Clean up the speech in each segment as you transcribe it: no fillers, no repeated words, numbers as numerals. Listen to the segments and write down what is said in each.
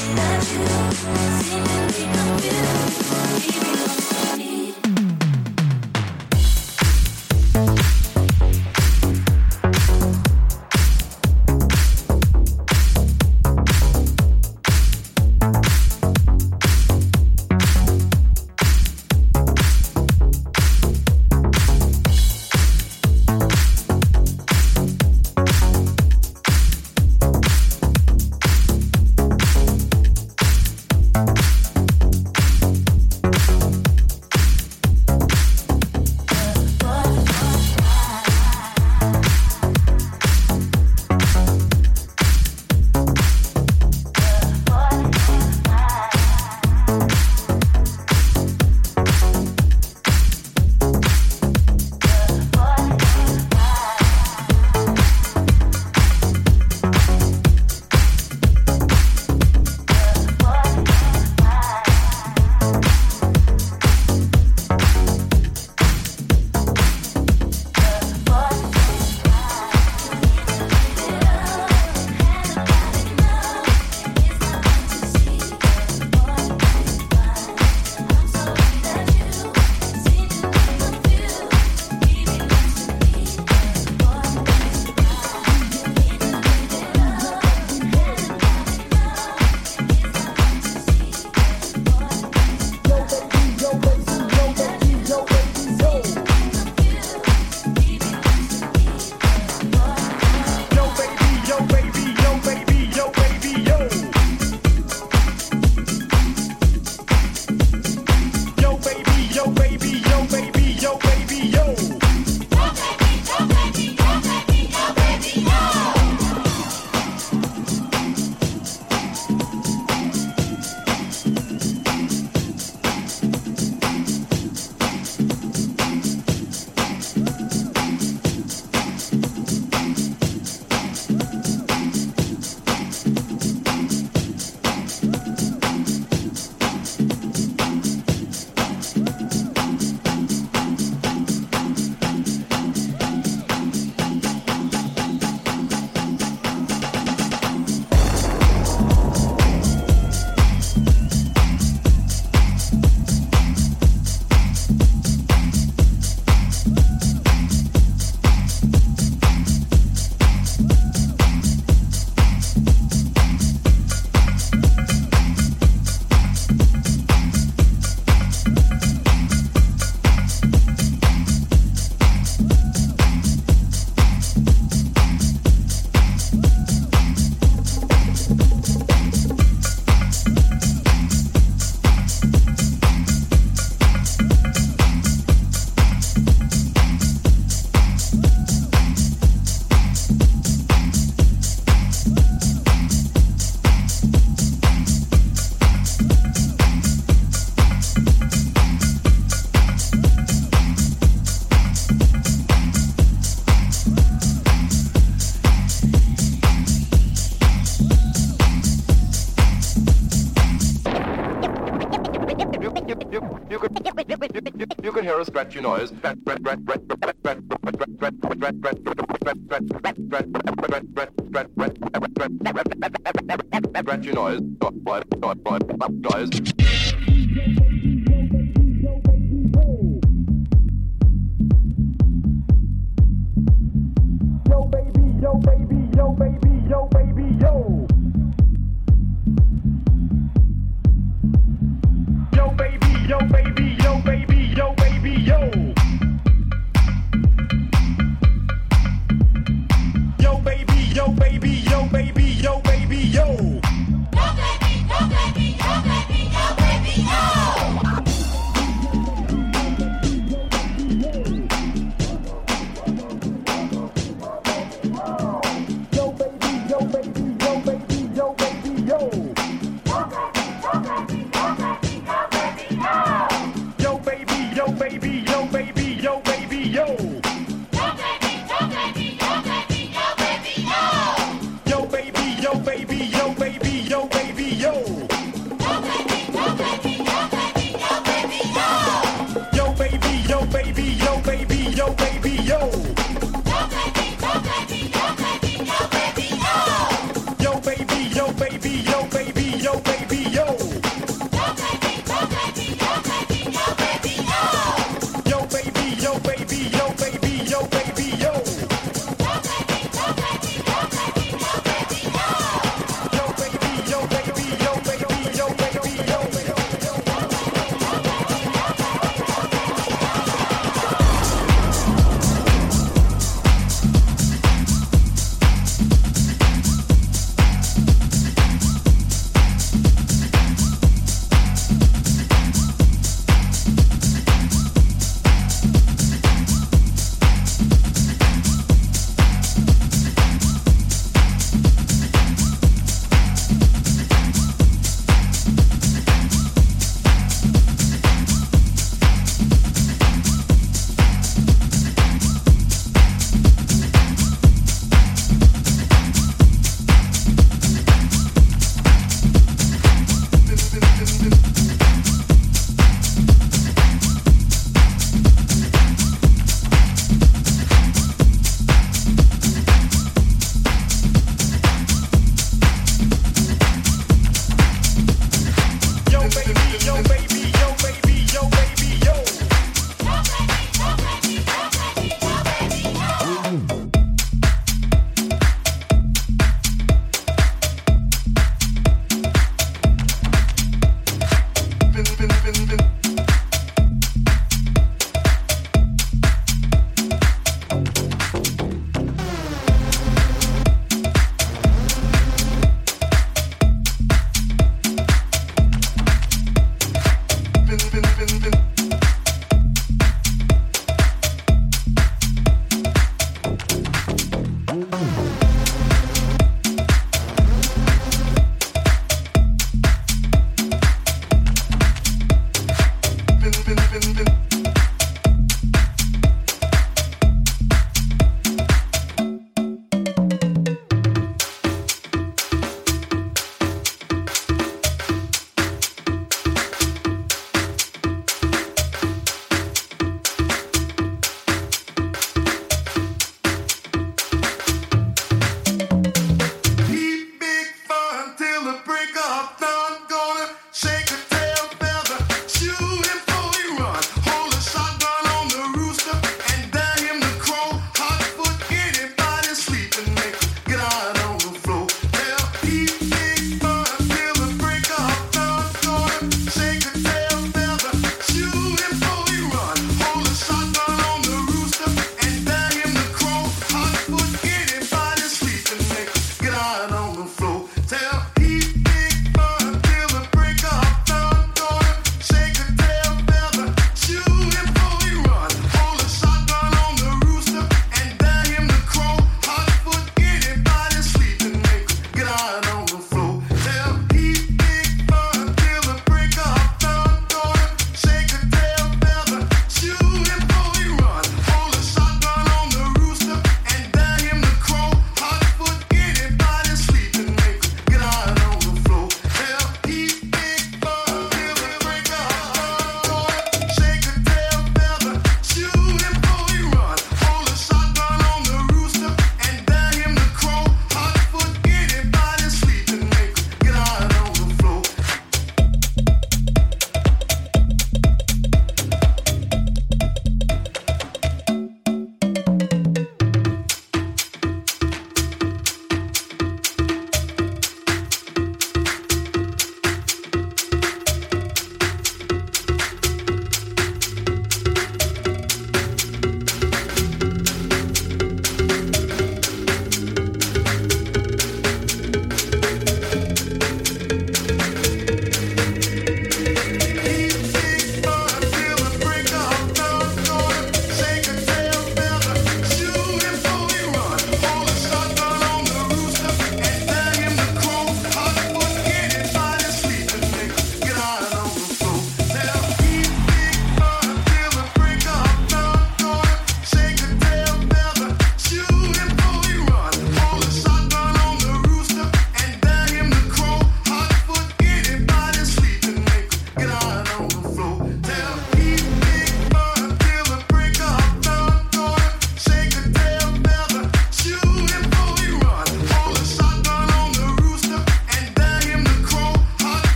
You can hear a scratchy noise. Scratchy noise. Yo baby, yo baby, yo baby, yo baby, yo. Yo baby, yo baby, yo baby, yo baby, yo. Yo baby, yo baby, yo baby, yo baby, yo. Yo baby, yo baby, yo baby, yo baby, yo. Yo baby, yo baby, yo baby, yo baby,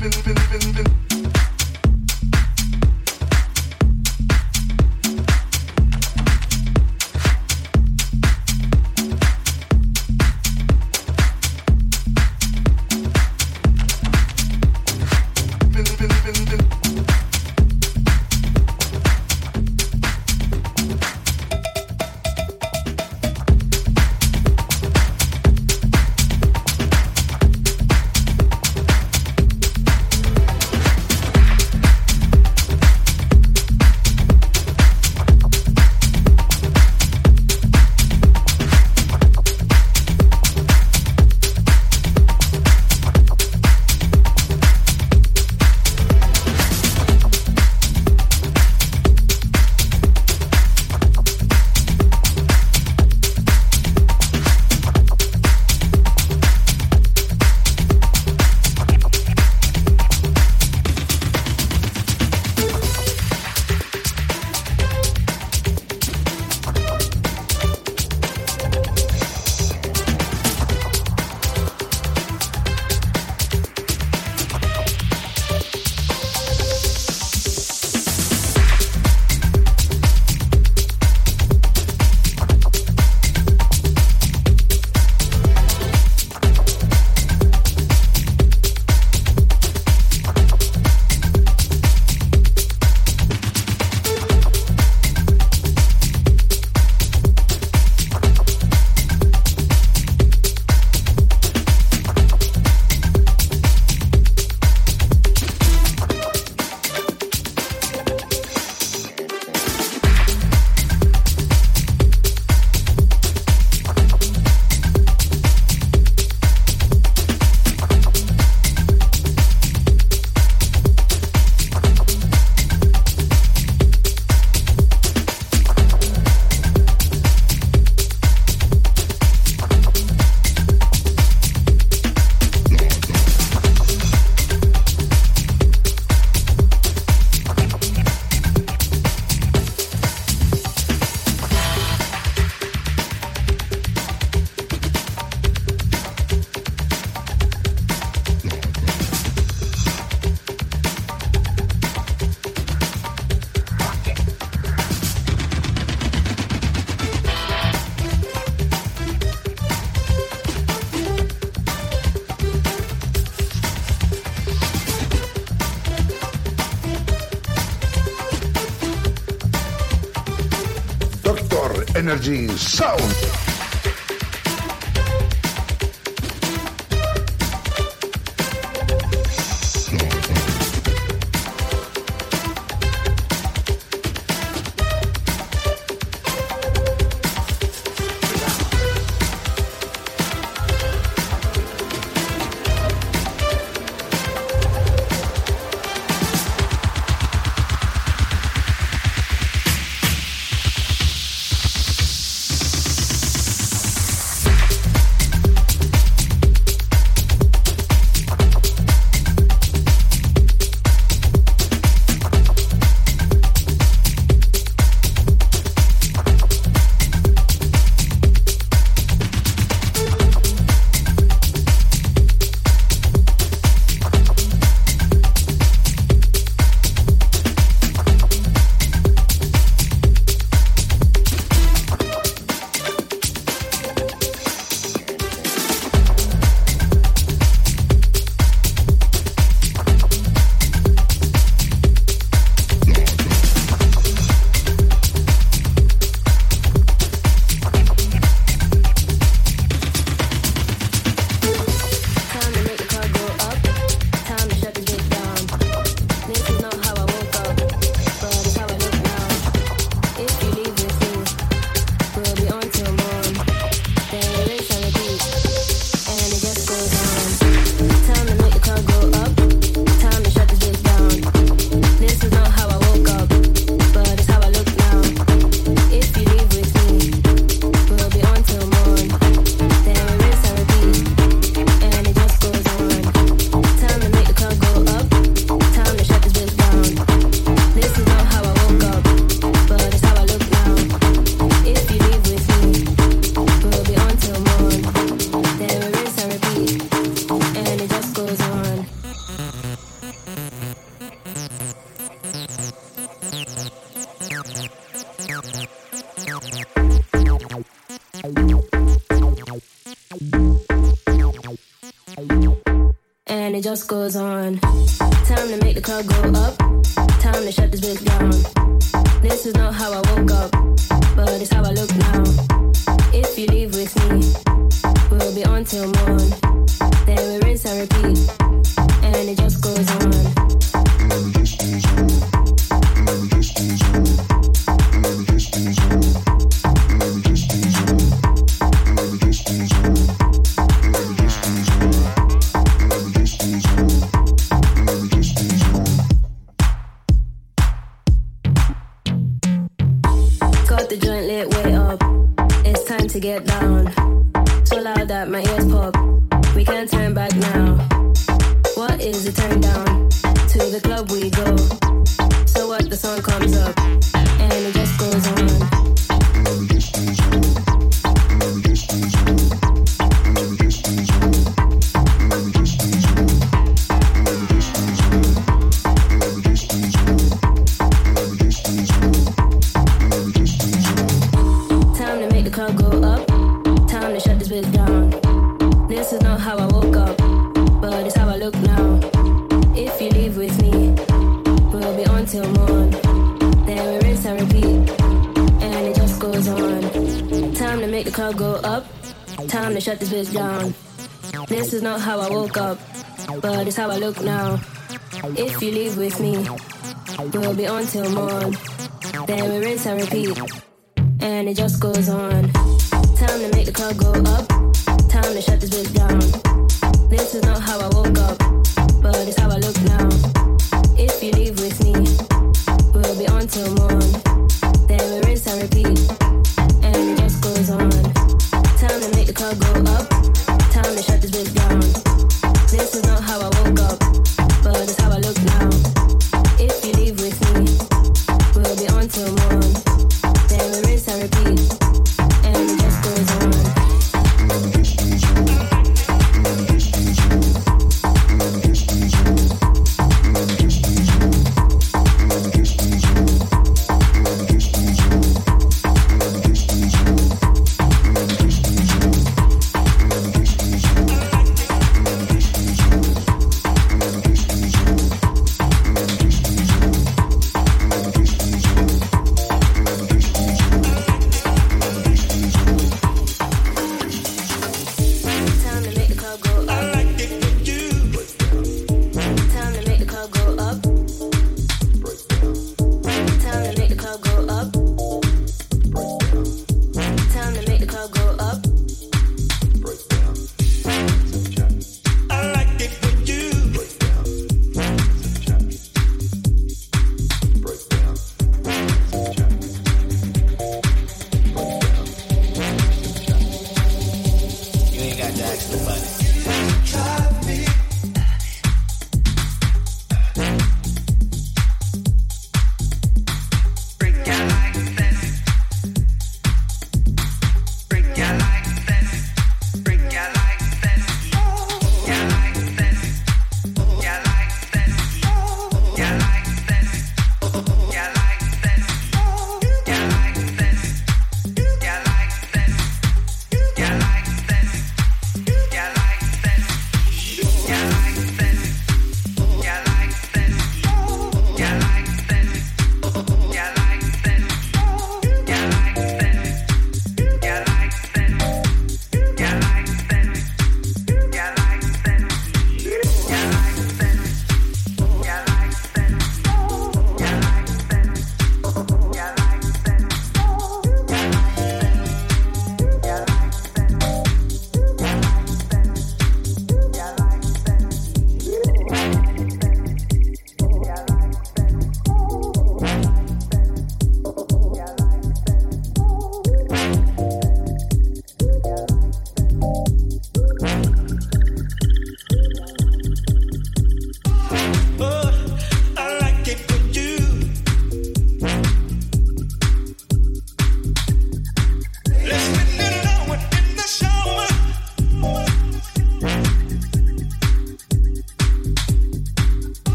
Energy Sound. and it just goes on. Time to make the club go up, time to shut this bitch down. This is not how I woke up, but it's how I look now. If you leave with me, we'll be on till morn. Then we rinse and repeat, and it just goes on. Got the joint lit way up, it's time to get down. So loud that my ears pop, we can't turn back now. What is the turn down? To the club we go. So what, the song comes up, and it just goes on. Time to make the club go up, time to shut this bitch down. This is not how I woke up, but it's how I look now. If you leave with me, we'll be on till morn. Then we rinse and repeat, and it just goes on. Time to make the club go up, time to shut this bitch down. This is not how I woke up, but it's how I look now. If you leave with me, we'll be on till morn. Then we rinse and repeat, and it just goes on. Time to make the club go up, time to shut this bitch down. This is not how I woke up, but it's how I look now. If you leave with me, we'll be on till morn. Then we rinse and repeat, and it just goes on. Time to make the club go up, time to shut this bitch down. This is not how I woke up, but it's how I look now. If you leave with me, we'll be on till morn. Then we rinse and repeat, and it just goes on.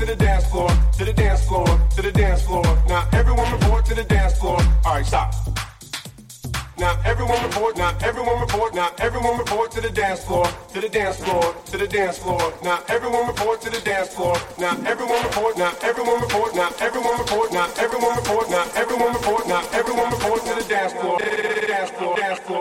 to the dance floor, to the dance floor, to the dance floor. Now everyone report to the dance floor. All right, stop. Now everyone report, now everyone report, now everyone report to the dance floor, to the dance floor, to the dance floor. Now everyone report to the dance floor. Now everyone report, now everyone report, now everyone report, now everyone report, now everyone report, now everyone report to the dance floor, dance floor, dance floor.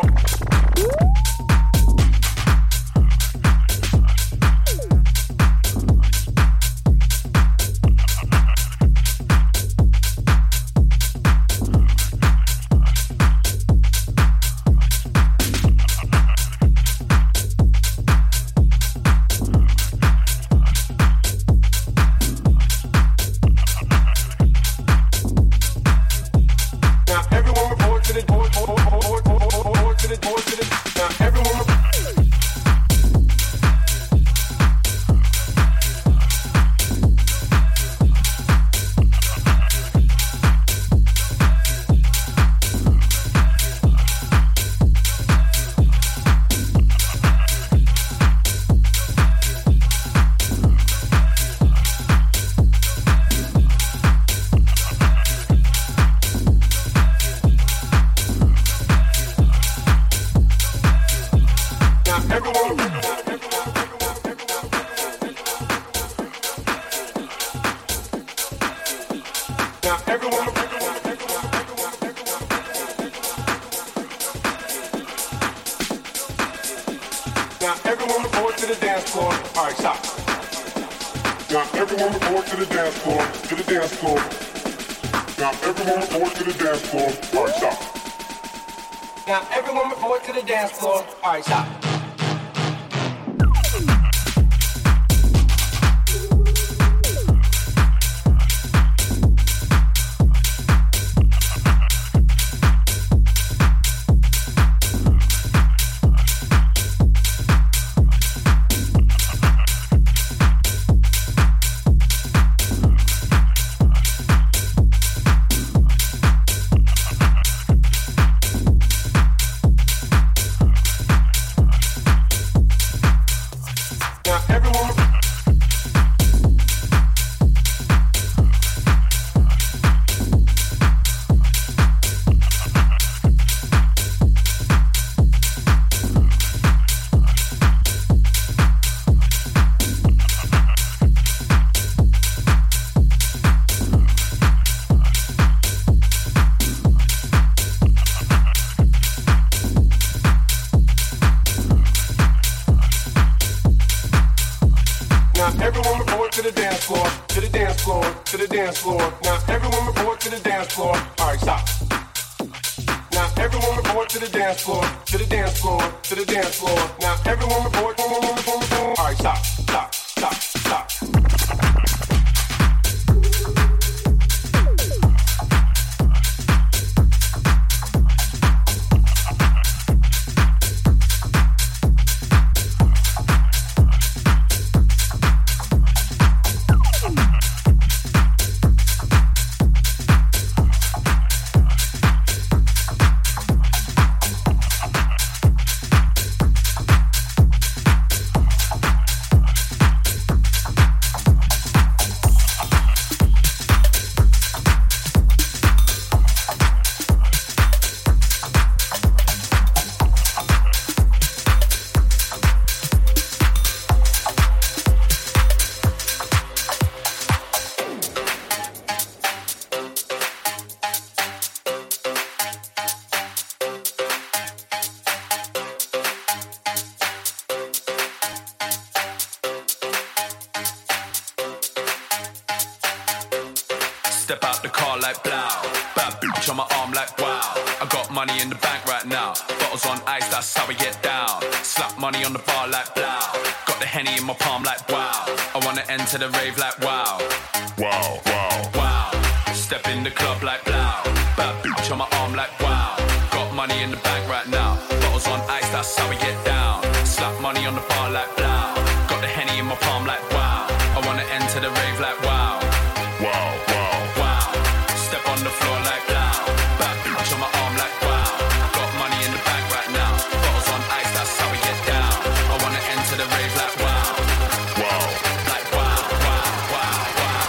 Step out the car like blow. Bad bitch on my arm like wow. I got money in the bank right now. Bottles on ice, that's how we get down. Slap money on the bar like blow. Got the Henny in my palm like wow. I wanna enter the rave like wow. Wow, wow, wow. Step in the club like blow. Bad bitch on my arm like wow. Got money in the bank right now. Bottles on ice, that's how we get down. Slap money on the bar like blow. Got the Henny in my palm like wow. I wanna enter the rave like wow. Wow, wow, wow. Step on the floor like blow. Bad bitch on my arm like wow. Got money in the bank right now. Bottles on ice, that's how we get down. I wanna enter the rave like wow. Wow, like wow, wow, wow, wow.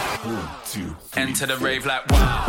Enter the rave like wow.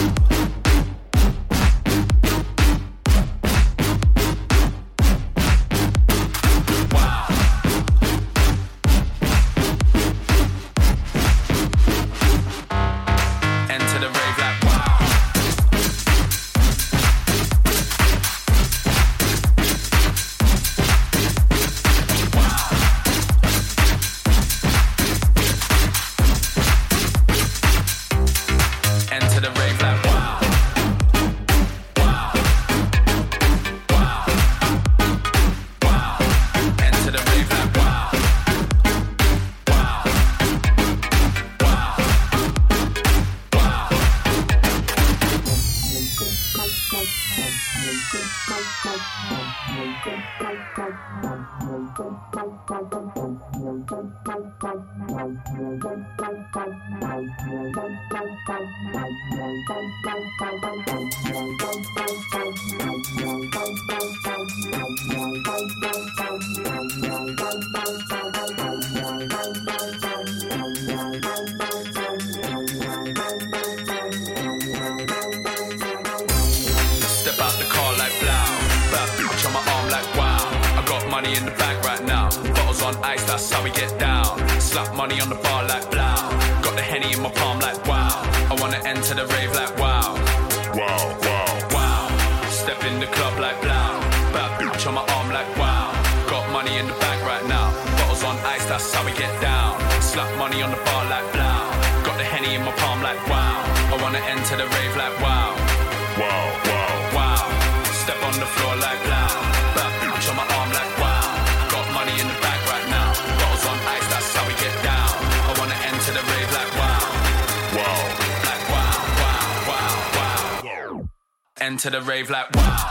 Enter the rave like wow.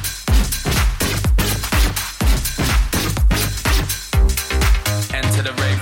Enter the rave.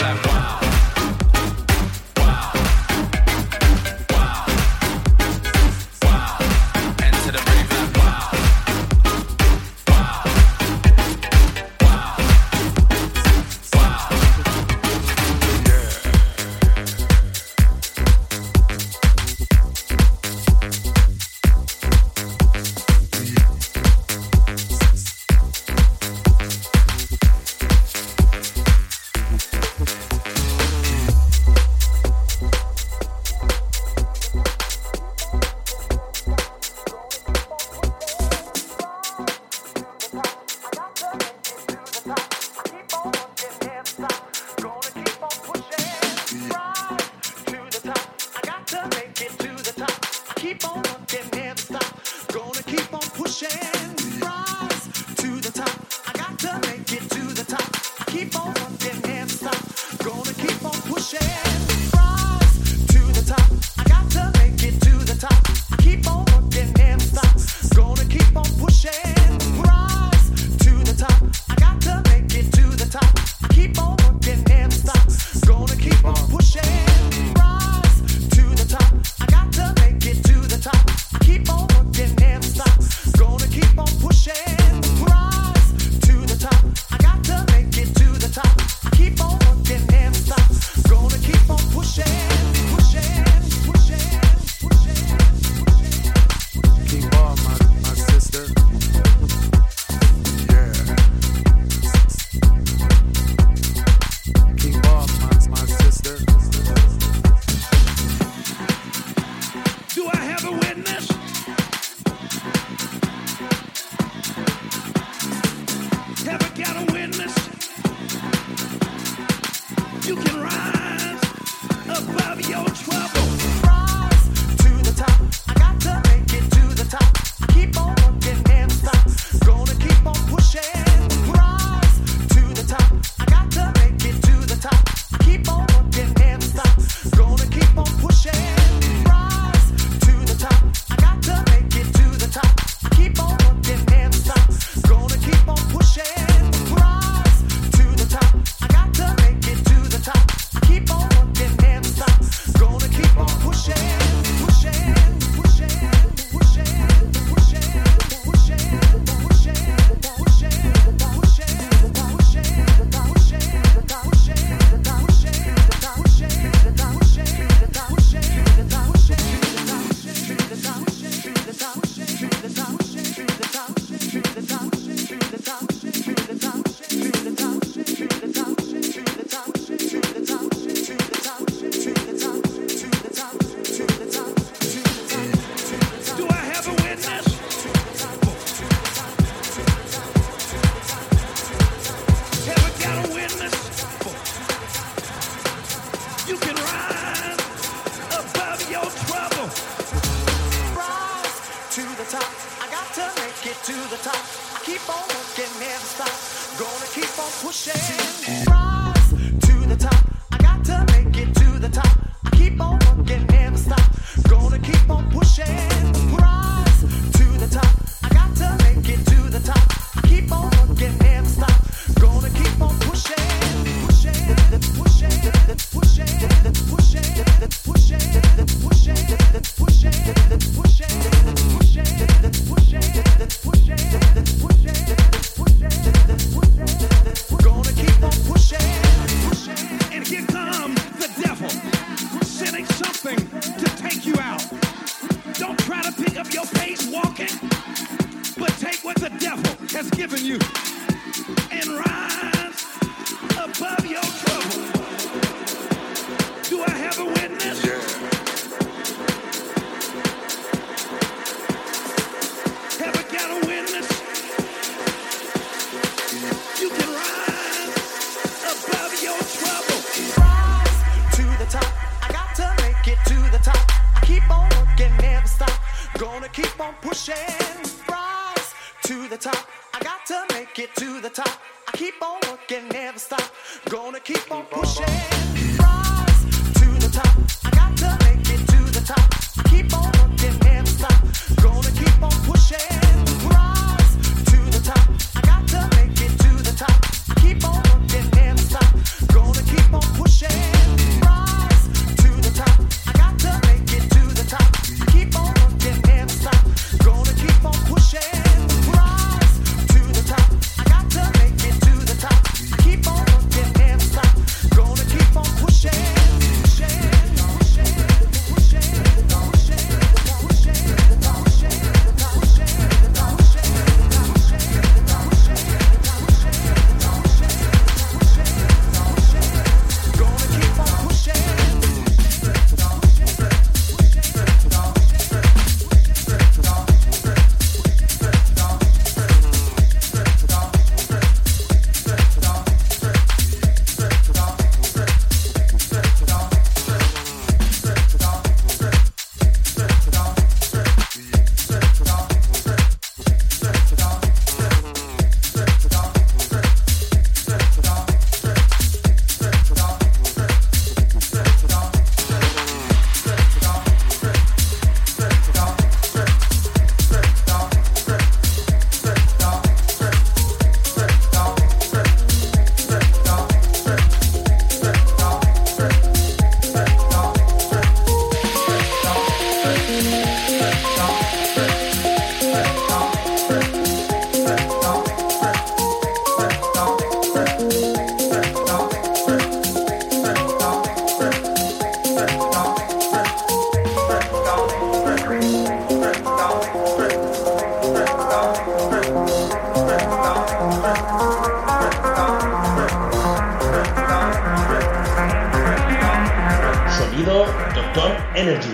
to the top. I keep on working, never stop. Gonna keep on pushing. Rise to the top. I got to make it to the top. I keep on working, never stop. Gonna keep on pushing. Rise to the top. I got to make it to the top. I keep on working, never stop. Gonna keep on pushing. Pushing, pushing, pushing, pushing, pushing, pushing, pushing, gonna keep on pushing. And here comes the devil, sending something to take you out. Don't try to pick up your pace walking, but take what the devil has given you and rise above your trouble. Do I have a witness? Have I got a witness? You can rise above your trouble. Rise to the top. I got to make it to the top. I keep on working, never stop. Gonna keep on pushing. Rise to the top. I got to make it to the top. I keep on working, never stop. Gonna keep on pushing. Rise to the top. I got to make it to the top. I keep on working, never stop. Gonna keep on pushing. Rise to the top. I got to make it to the top. I keep on working, never stop. Gonna keep on pushing. Rise to the top. I got to make it to the top. I keep on working, never stop. Gonna keep on pushing. Rise to the top. I got to make it to the top. I keep on working, never stop. Gonna keep on pushing. Pushing, pushing, pushing, pushing, pushing, pushing, gonna keep on pushing. Sonido Dr. Energy.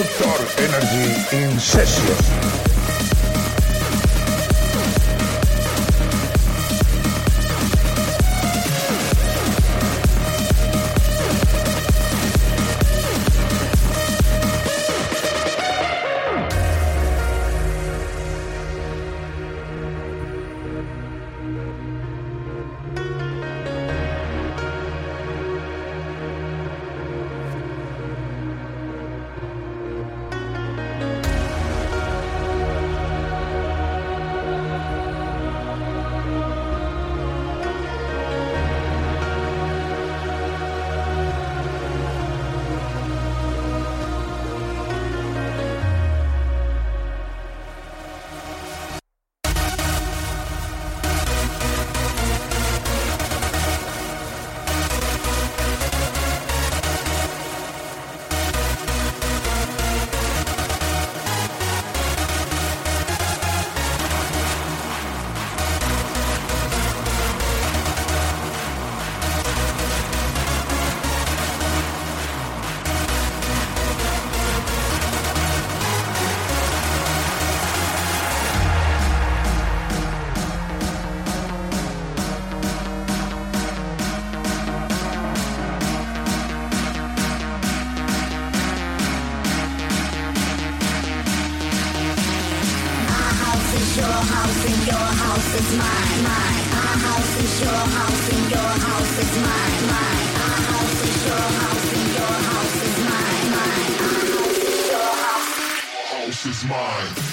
Dr. Energy in session. Is mine.